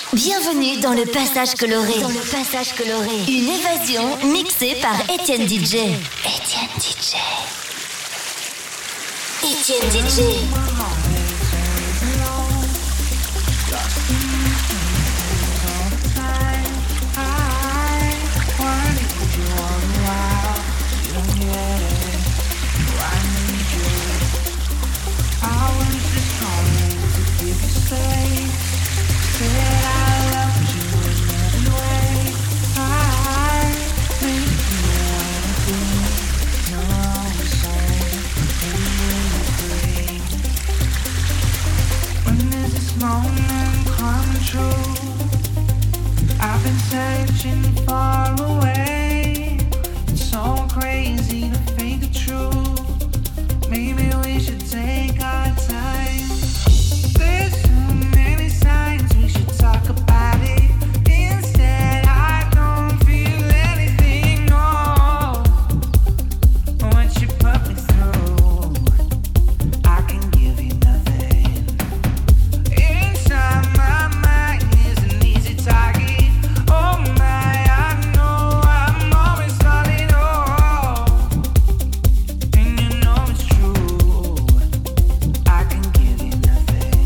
Bienvenue dans le Passage Coloré. Une évasion mixée par Étienne DJ. Étienne DJ. Moment come true. I've been searching far away. It's so crazy to fake the truth. Maybe we should take our time. There's so many signs we should talk about it. Instead, I don't feel anything. No, what you put me through, I can give you nothing. Inside my mind is an easy target. Oh my, I know I'm always falling off. And you know it's true, I can give you nothing.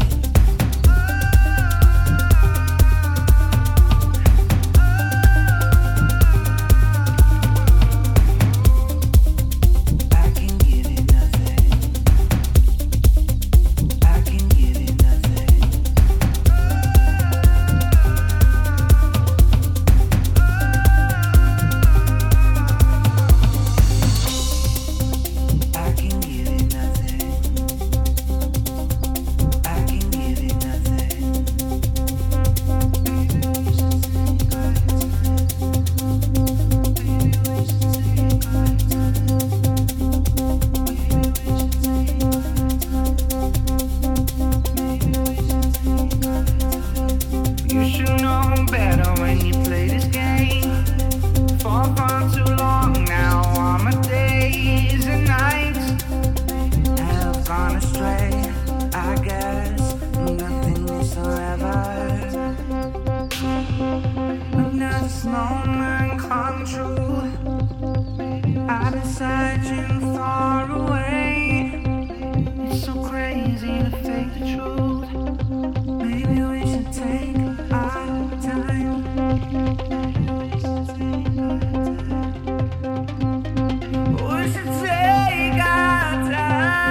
I can give you nothing. I can give you nothing. I can give you nothing. I can give you nothing. Maybe we should take our time. Maybe we should take our time. Maybe we should take our time. Maybe we should take our time. You should know better when you play this game. For far too long now, all my days and nights have gone astray. I guess nothing is forever. When does this moment come true? I've been searching far away. It's so crazy to fake the truth. Maybe we should take our time. Maybe we should take our time. We should take our time.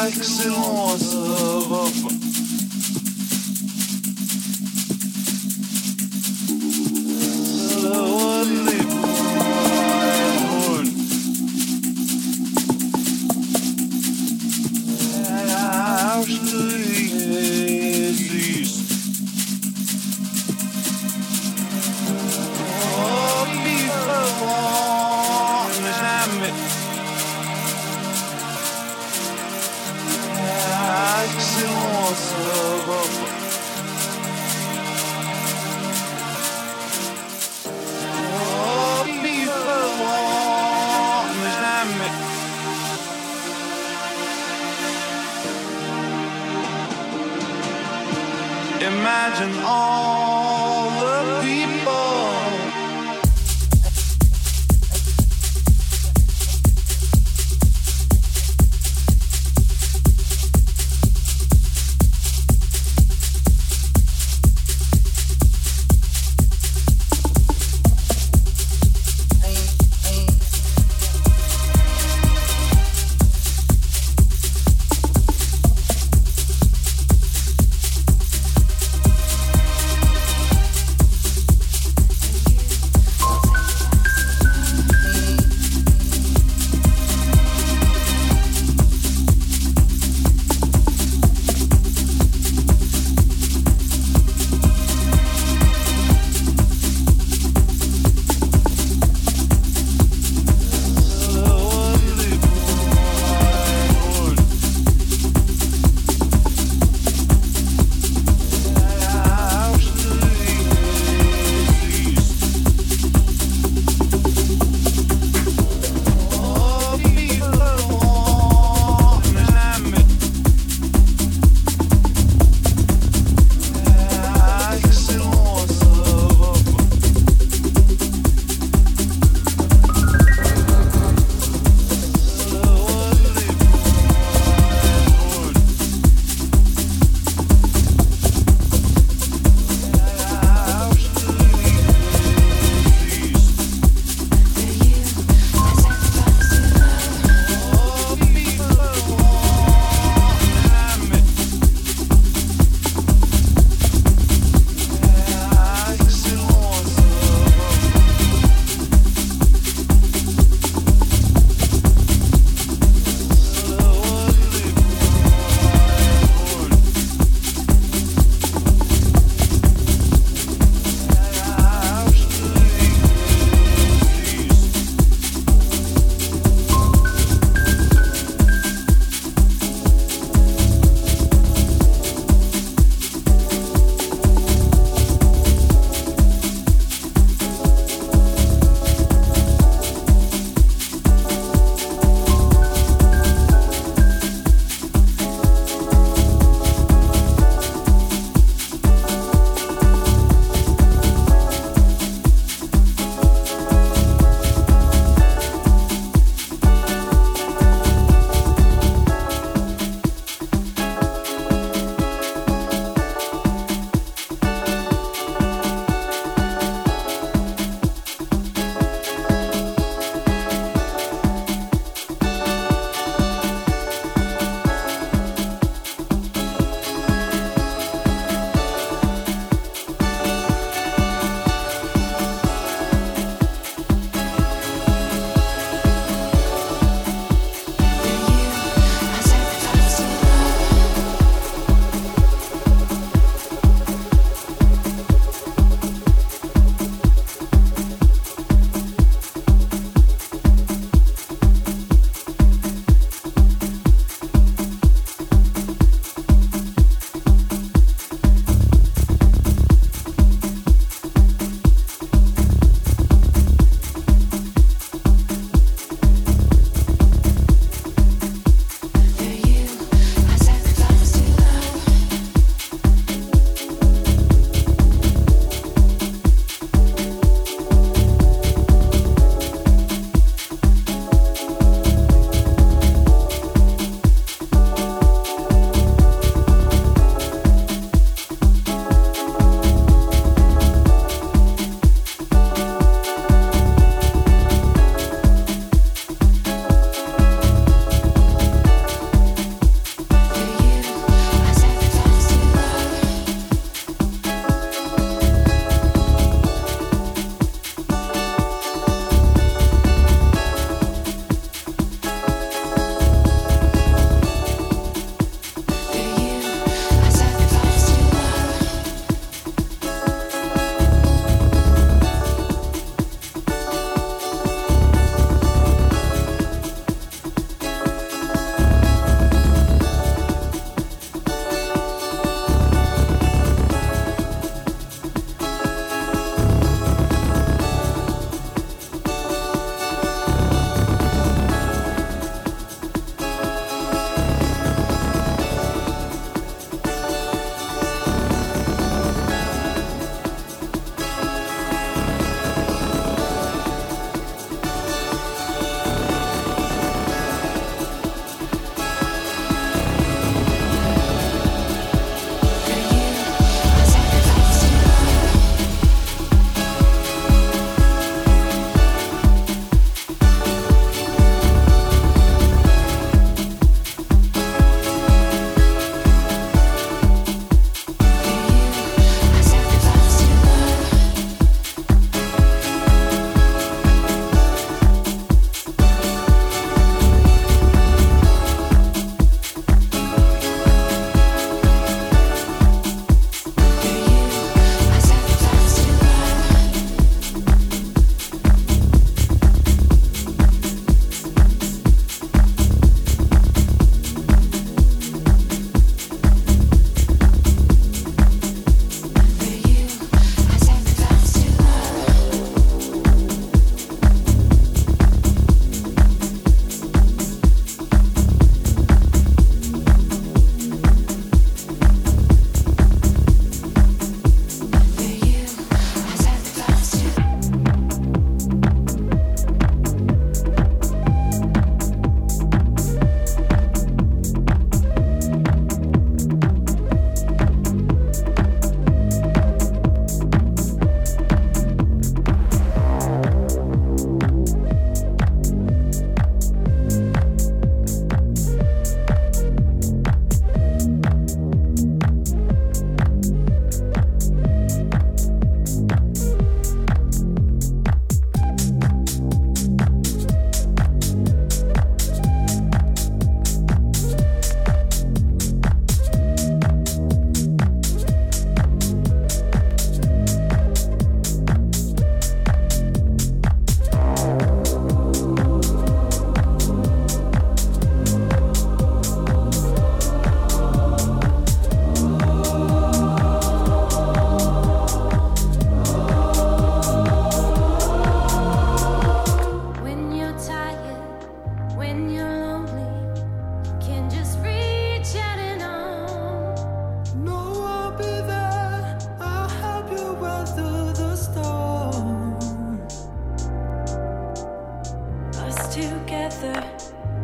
excellence Europe. Imagine all the people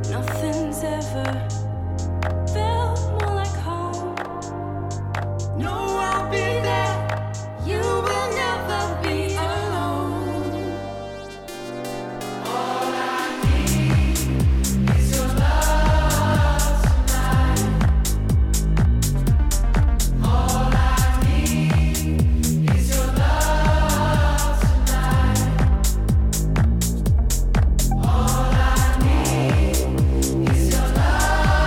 Nothing's ever felt more like home. No, I'll be there. You will never be alone. All I need is your love tonight. All I need is your love tonight. All I need is your love.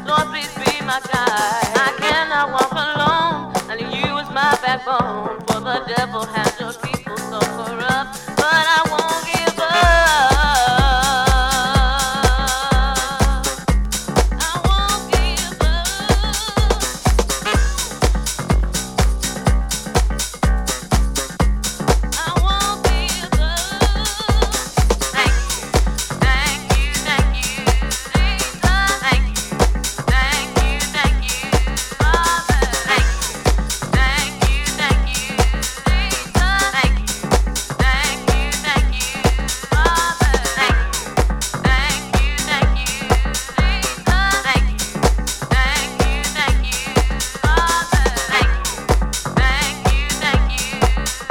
Lord, please be my guide. I cannot walk alone, and you is my backbone. For the devil has your people so corrupt, but I won't give up. I won't give up. I won't give up. Thank you, thank you, thank you, Jesus. Thank you, thank you, thank you, Father. Thank you, thank you, thank you, Jesus. Thank you, thank you, thank you, Father. Thank you, thank you, thank you, Jesus. Thank you, thank you, thank you, Father. Thank you, thank you, thank you, Jesus.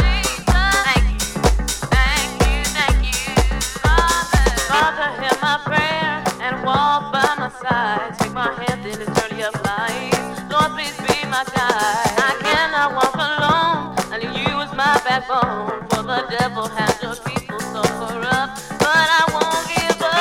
Thank you, thank you, Father. Father, hear my prayer and walk by my side. Take my hand in this journey of life. Lord, please be my guide. I cannot walk alone, and you is my backbone. For the devil has your people so corrupt, but I won't give up.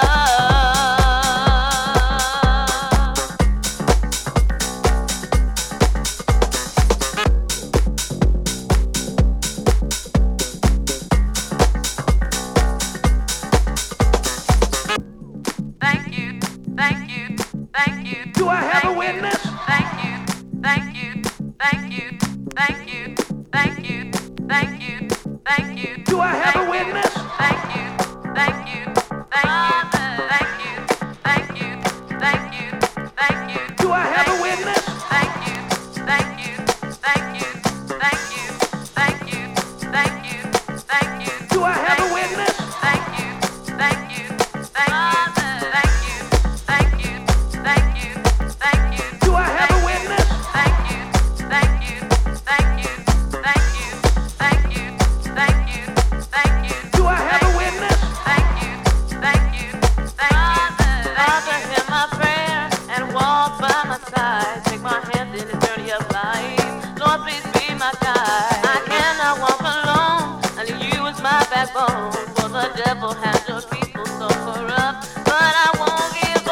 Thank you, thank you, thank you. Do I have thank a witness? Thank you, thank you, thank you, thank you, thank you, thank you, thank you. Do I have a thank you, witness? Thank you, thank you, thank you, thank you, thank you, thank you, thank you. Do I have a witness? Thank you, thank you, thank you, thank you, thank you, thank you, thank you. Do I have a witness? Thank you, thank you, thank you, thank you, thank you, thank you, thank you. Do I have a witness? Thank you, thank you, thank you, thank you, thank you, thank you, thank you. Do I have a witness? Thank you, thank you, thank you. Father, hear my prayer and walk by my side. Take my hand in this journey of life. Lord, please be my guide. I cannot walk alone, and you is my backbone. For the devil has your people so corrupt, but I won't give up.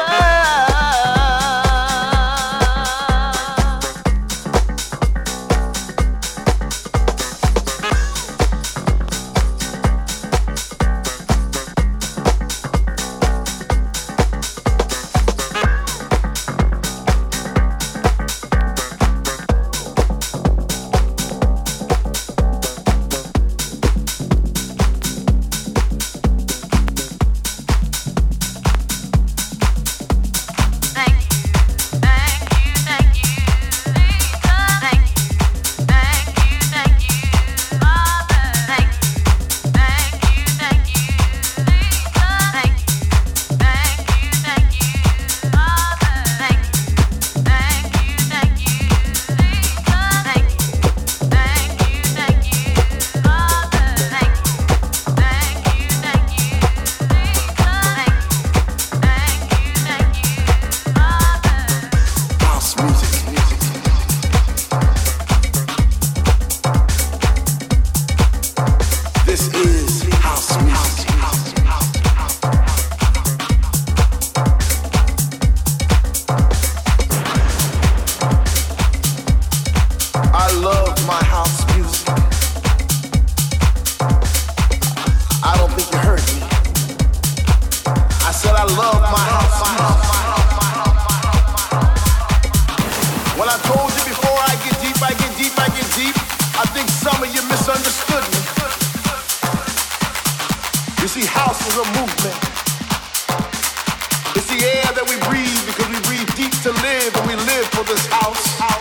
is a movement. It's the air that we breathe because we breathe deep to live and we live for this house.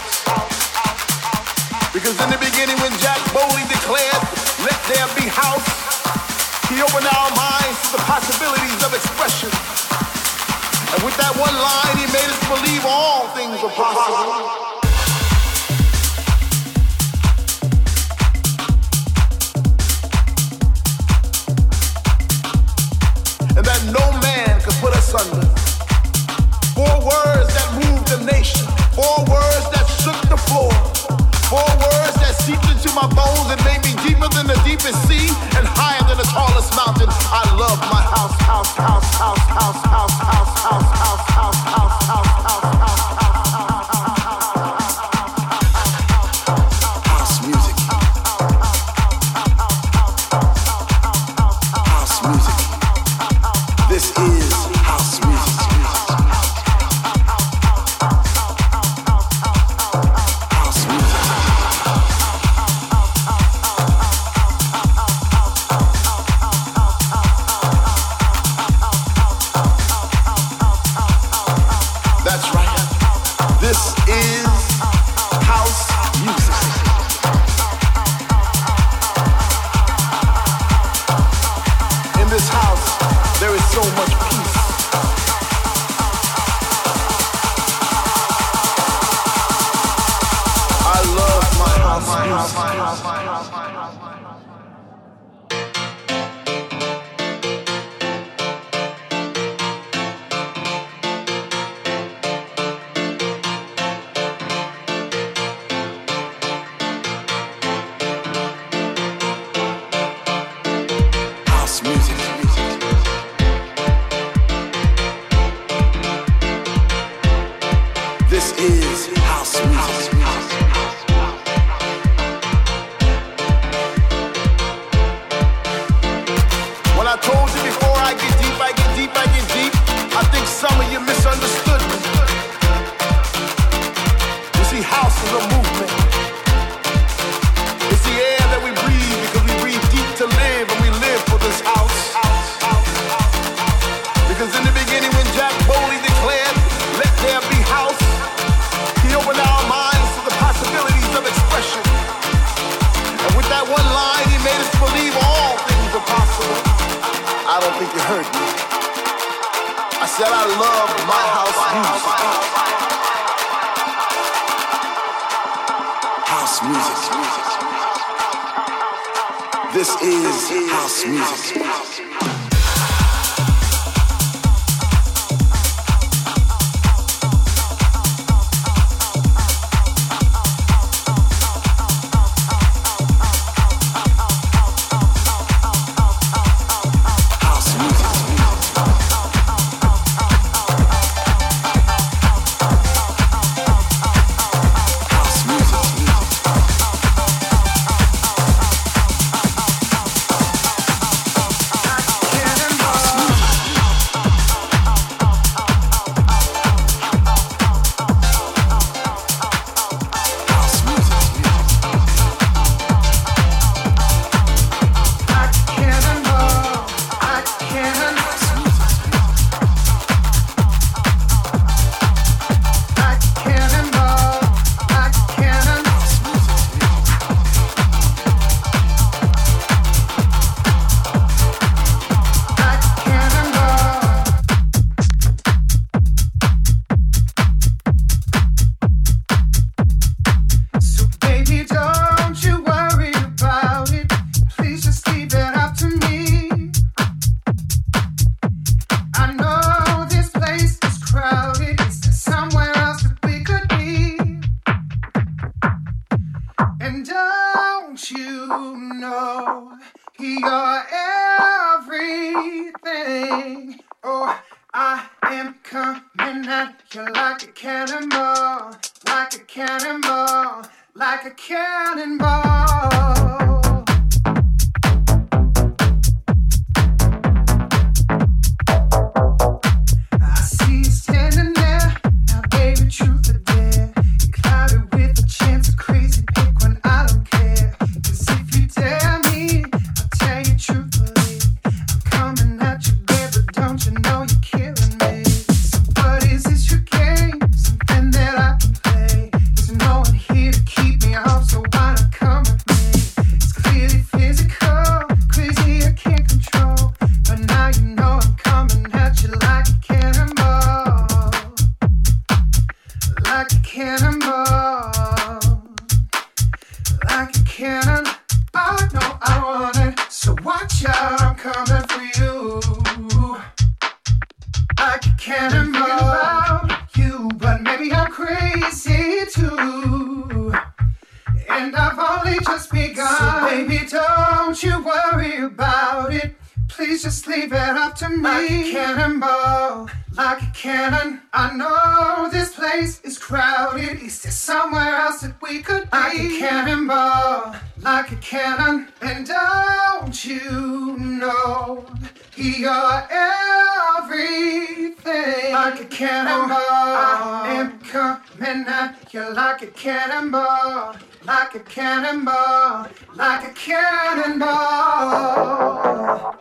Because in the beginning when Jack Bowley declared, let there be house, he opened our minds to the possibilities of expression. And with that one line, he made us believe all things are possible. And that no man could put us under. 4 words that moved the nation. 4 words that shook the floor. 4 words that seeped into my bones and made me deeper than the deepest sea and higher than the tallest mountain. I love my house, house, house, house, house, house, house, house, house, house, house, house, house. This is house music. In this house, there is so much peace. I love my house music. This is house music. When I told you before I get deep, I get deep, I get deep, I think some of you misunderstood me. You see, house is a movement. It's the air that we breathe because we breathe deep to live and we live for this house. Because in the beginning when Jack Foley declared, let there be house, he opened our minds to the possibilities of expression. And with that one line, he made us believe all things are possible. I don't think you heard me. I said I love my house music. House music. This is house music. Like a cannonball, like a cannonball.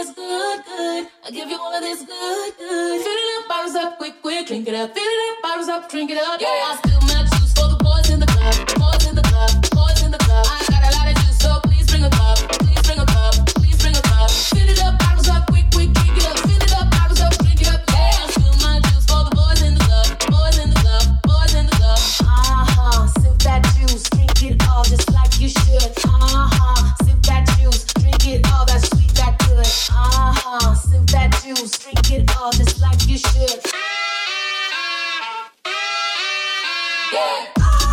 this good, good. I give you all of this good, good. Fill it up, bottles up, quick, quick, drink it up. Fill it up, bottles up, drink it up. Yeah, I spill my juice for the boys in the club, boys in the club, boys in the club. I got a lot of juice, so please bring a cup, please bring a cup, please bring a cup. Fill it up, bottles up, quick, quick, drink it up. Fill it up, bottles up, drink it up. Yeah, I spill my juice for the boys in the club, boys in the club, boys in the club. Sip that juice, drink it all just like you should. Sip that juice, drink it all, that sweet, that good. Sip that juice, drink it all just like you should. Yeah.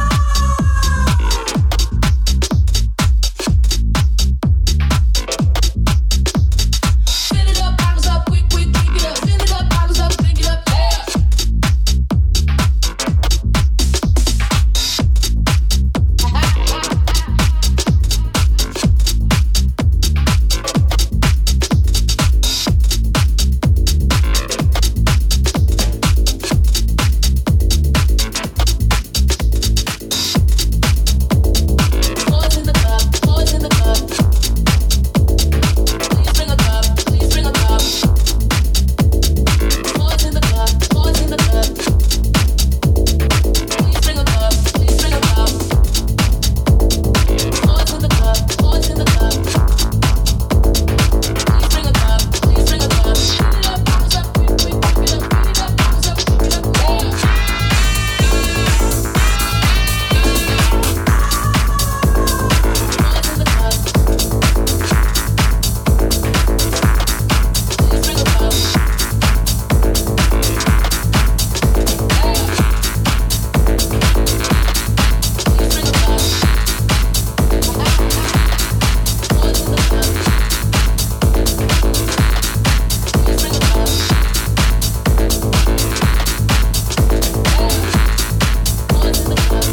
Fill it up, bottles up, quick, quick, drink it up. Fill it up, bottles up, drink it up. Yeah. Boys in the club, boys in the club. Please bring a cup, please bring a cup. Boys in the club, boys in the club. Please bring a cup, please bring a cup. Boys in the club, boys in the club. Please bring a cup, please bring a cup. Fill it up, bottles up, quick, quick, drink it up. Fill it up, bottles up, drink it up. Yeah. Boys in the club. Please bring a cup. Please bring a cup. Boys in the club. Please bring a cup. Boys in the club.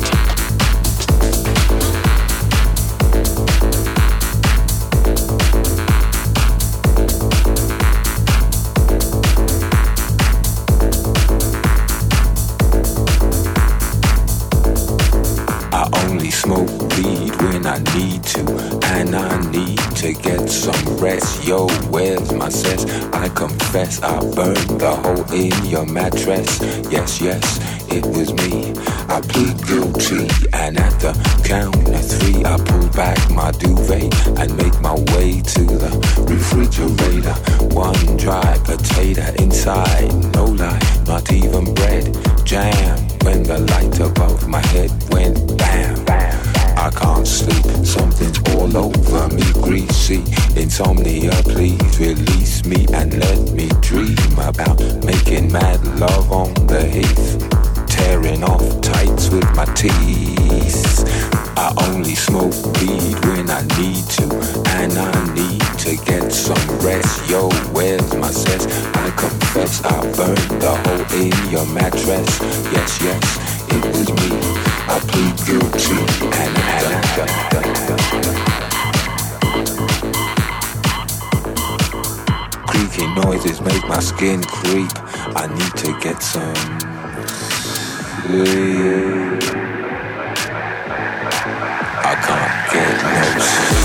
I only smoke weed when I need to, and I need to get some rest. Yo, where's my cess? I confess I burned the hole in your mattress. Yes, yes, it was me. I plead guilty, and at the count of three, I pull back my duvet and make my way to the refrigerator. One dry potato inside, no lie, not even bread. Jam when the light above my head went bam, bam. I can't sleep, something's all over me, greasy. Insomnia, please release me and let me dream about making mad love on the heath, tearing off tights with my teeth. I only smoke weed when I need to, and I need to get some rest. Yo, where's my cess? I confess I burned the hole in your mattress. Yes, yes, it was me. I plead guilty, and creaky noises make my skin creep. I need to get some sleep. I can't get no sleep.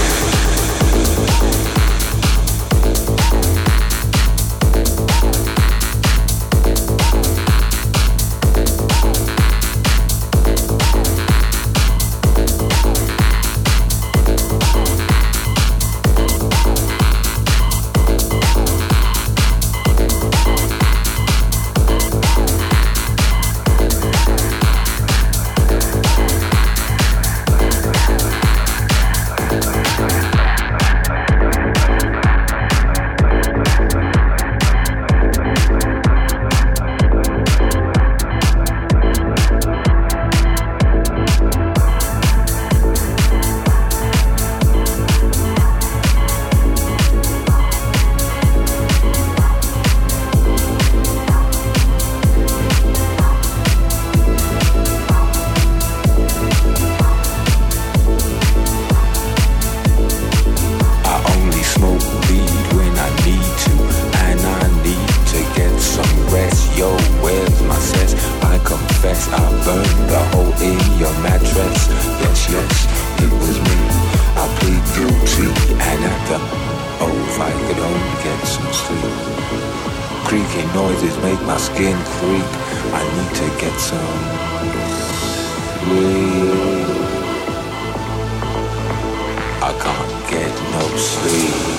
creaky noises make my skin creep. I need to get some sleep. I can't get no sleep.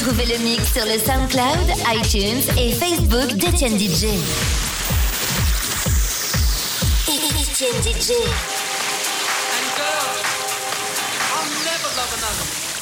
Retrouvez le mix sur le SoundCloud, iTunes et Facebook d'Etienne DJ. Etienne DJ. And girls, I'll never love another.